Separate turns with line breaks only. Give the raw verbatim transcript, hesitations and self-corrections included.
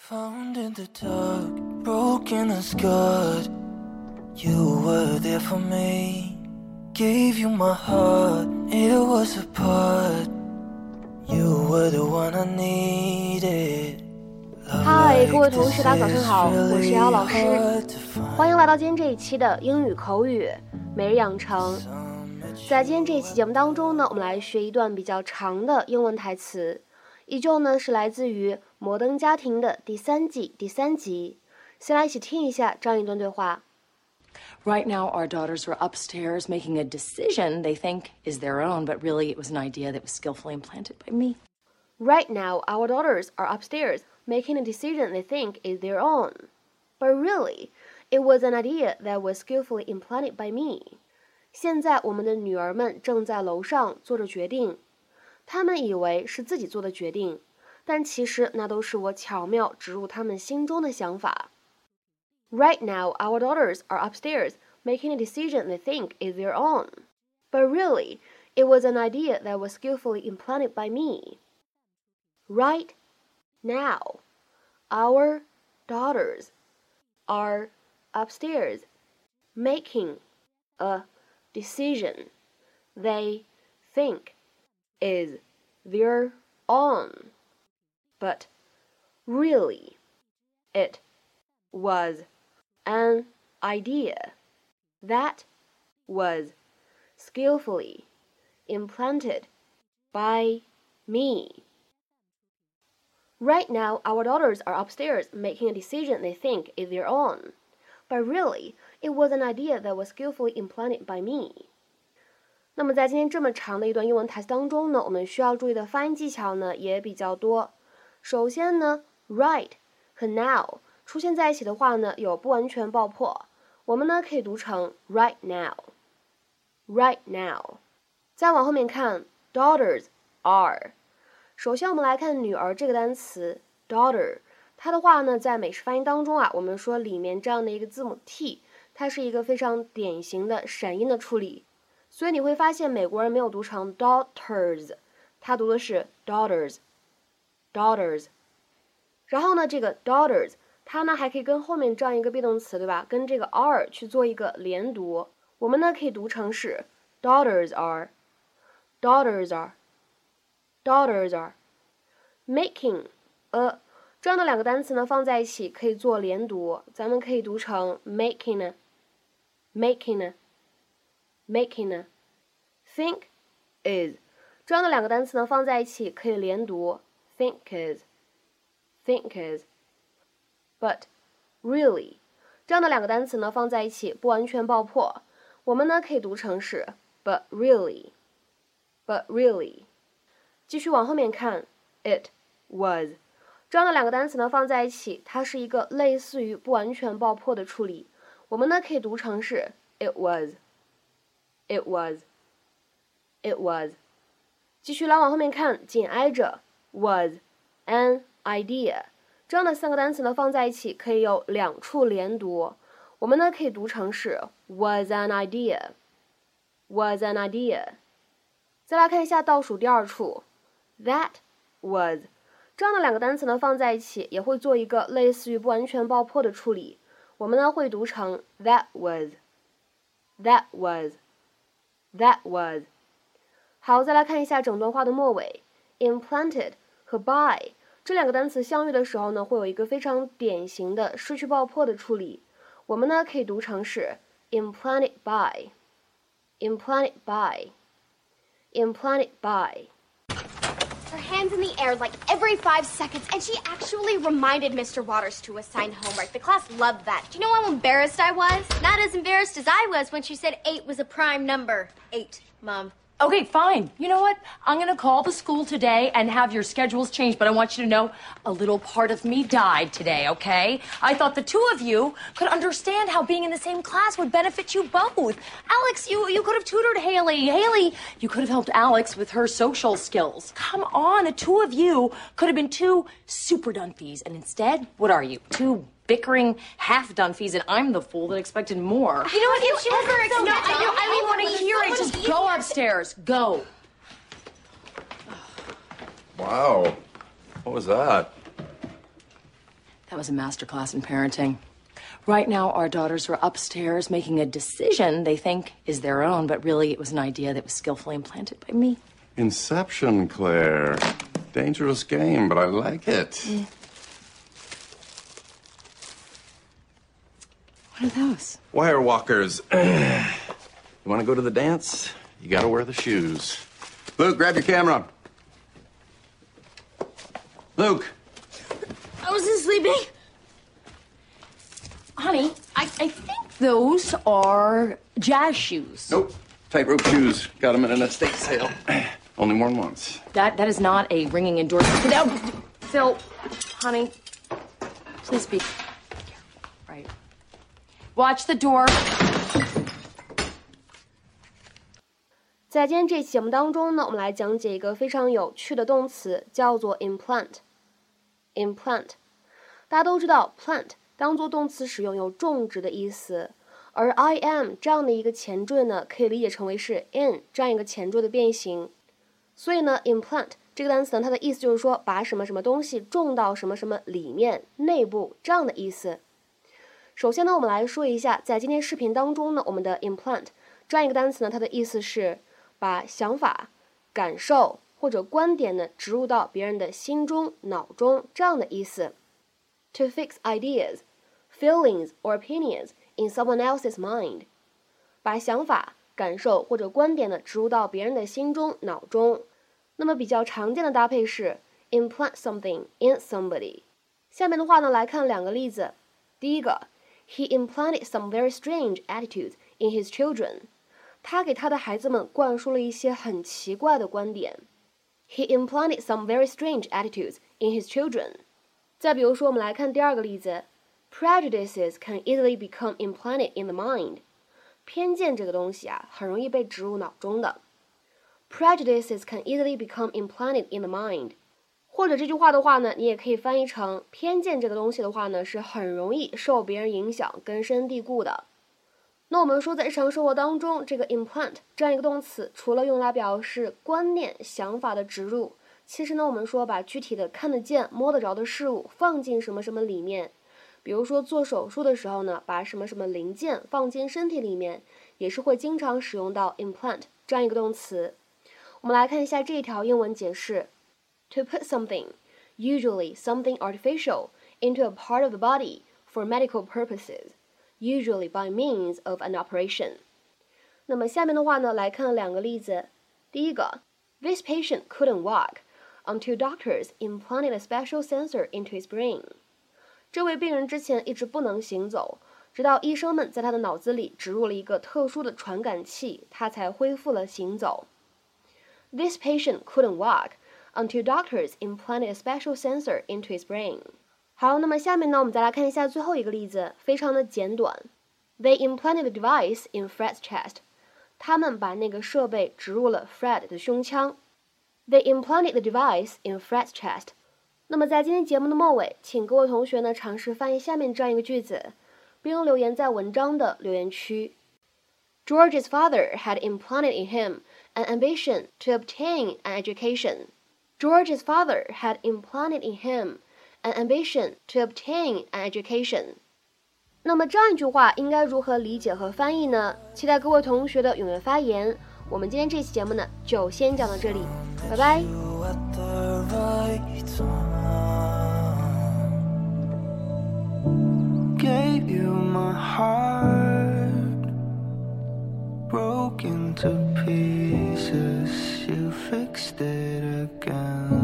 Found in the dark, broken and scarred. You were there for me. Gave you my heart, it was a part. You were the one I needed.
嗨，各位同学，大家早上好，我是姚老师，欢迎来到今天这一期的英语口语每日养成。在今天这一期节目当中呢，我们来学一段比较长的英文台词，依旧呢是来自于《摩登家庭》的第三季第三集。先来一起听一下这样一段对话。
Right now, our daughters are upstairs making a decision they think is their own, but really it was an idea that was skillfully implanted by me.
Right now, our daughters are upstairs making a decision they think is their own, but really, it was an idea that was skillfully implanted by me. 现在我们的女儿们正在楼上做着决定，她们以为是自己做的决定，但其实那都是我巧妙植入她们心中的想法。Right now, our daughters are upstairs making a decision they think is their own, but really, it was an idea that was skillfully implanted by me. Right now, our daughters are upstairs making a decision they think is their own, but really, it was an idea that was skillfully implanted by me. Right now, our daughters are upstairs making a decision they think is their own, but really, it was an idea that was skillfully implanted by me. 那么在今天这么长的一段英文台词当中呢，我们需要注意的发音技巧呢也比较多。首先呢 right 和 now 出现在一起的话呢有不完全爆破，我们呢可以读成 right now right now。 再往后面看 daughters are， 首先我们来看女儿这个单词 daughter， 它的话呢在美式发音当中啊，我们说里面这样的一个字母 t， 它是一个非常典型的闪音的处理，所以你会发现美国人没有读成 daughters， 他读的是 daughters daughters。 然后呢这个 daughters 它呢还可以跟后面这样一个 be 动词，对吧，跟这个 are 去做一个连读，我们呢可以读成是 daughters are daughters are daughters are。 making a 这样的两个单词呢放在一起可以做连读，咱们可以读成 making making making。 think is 这样的两个单词呢放在一起可以连读 think is think is。 but really 这样的两个单词呢放在一起不完全爆破，我们呢可以读成是 but really but really。 继续往后面看 it was 这样的两个单词呢放在一起，它是一个类似于不完全爆破的处理，我们呢可以读成是 it was it was it was。 继续来往后面看，紧挨着 was an idea 这样的三个单词呢放在一起可以有两处连读，我们呢可以读成是 was an idea was an idea。 再来看一下倒数第二处 that was 这样的两个单词呢放在一起也会做一个类似于不完全爆破的处理，我们呢会读成 that was that was that was。 好，再来看一下整段话的末尾 implanted 和 by 这两个单词相遇的时候呢会有一个非常典型的失去爆破的处理，我们呢可以读成是 implanted by implanted by implanted by。
Her hands in the air like every five seconds, and she actually reminded Mister Waters to assign homework. The class loved that. Do you know how embarrassed I was? Not as embarrassed as I was when she said eight was a prime number. Eight, Mom.
Okay, fine. You know what? I'm going to call the school today and have your schedules changed, but I want you to know a little part of me died today, okay? I thought the two of you could understand how being in the same class would benefit you both. Alex, you, you could have tutored Haley. Haley, you could have helped Alex with her social skills. Come on, the two of you could have been two super Dunphys, and instead, what are you? Two bickering half Dunphys, and I'm the fool that expected more.
You know what? If she was ever
No, I don't, I don't want to hear it. Just go upstairs. Go.
Wow. What was that?
That was a masterclass in parenting. Right now, our daughters are upstairs making a decision they think is their own, but really it was an idea that was skillfully implanted by me.
Inception, Claire. Dangerous game, but I like it.
Mm. What are those?
Wire walkers. You want to go to the dance? You got to wear the shoes. Luke, grab your camera. Luke.
I wasn't sleeping. Honey, I, I think those are jazz shoes.
Nope. Tightrope shoes. Got them at an estate sale. Only worn once.
That that is not a ringing endorsement. No, Phil, honey, please be careful. Right. Watch the door.
在今天这期节目当中呢，我们来讲解一个非常有趣的动词，叫做 implant。implant， 大家都知道 plant 当做动词使用有种植的意思，而 I am 这样的一个前缀呢，可以理解成为是 in 这样一个前缀的变形。所以呢 implant 这个单词呢，它的意思就是说把什么什么东西种到什么什么里面内部这样的意思。首先呢，我们来说一下，在今天视频当中呢，我们的 implant 这样一个单词呢，它的意思是把想法、感受或者观点呢植入到别人的心中、脑中这样的意思。To fix ideas, feelings or opinions in someone else's mind， 把想法、感受或者观点呢植入到别人的心中、脑中。那么比较常见的搭配是 implant something in somebody。下面的话呢，来看两个例子。第一个 ，He implanted some very strange attitudes in his children。他给他的孩子们灌输了一些很奇怪的观点。He implanted some very strange attitudes in his children。再比如说，我们来看第二个例子 ，Prejudices can easily become implanted in the mind。偏见这个东西啊，很容易被植入脑中的。Prejudices can easily become implanted in the mind。或者这句话的话呢，你也可以翻译成偏见这个东西的话呢，是很容易受别人影响、根深蒂固的。那我们说，在日常生活当中，这个 implant 这样一个动词，除了用来表示观念、想法的植入，其实呢，我们说把具体的看得见、摸得着的事物放进什么什么里面，比如说做手术的时候呢，把什么什么零件放进身体里面，也是会经常使用到 implant 这样一个动词。我们来看一下这一条英文解释 ：To put something, usually something artificial, into a part of the body for medical purposes.Usually by means of an operation。 那么下面的话呢，来看两个例子。第一个 ，This patient couldn't walk until doctors implanted a special sensor into his brain。这位病人之前一直不能行走，直到医生们在他的脑子里植入了一个特殊的传感器，他才恢复了行走。This patient couldn't walk until doctors implanted a special sensor into his brain。好，那么下面呢，我们再来看一下最后一个例子，非常的简短。They implanted the device in Fred's chest。他们把那个设备植入了 Fred 的胸腔。They implanted the device in Fred's chest。那么在今天节目的末尾，请各位同学呢尝试翻译下面这样一个句子，并留言在文章的留言区。George's father had implanted in him an ambition to obtain an education. George's father had implanted in him.An ambition to obtain an education。 那么这样一句话应该如何理解和翻译呢？期待各位同学的踊跃发言。我们今天这期节目呢，就先讲到这里，拜拜。
Gave you my heart, broken to pieces, you fixed it again.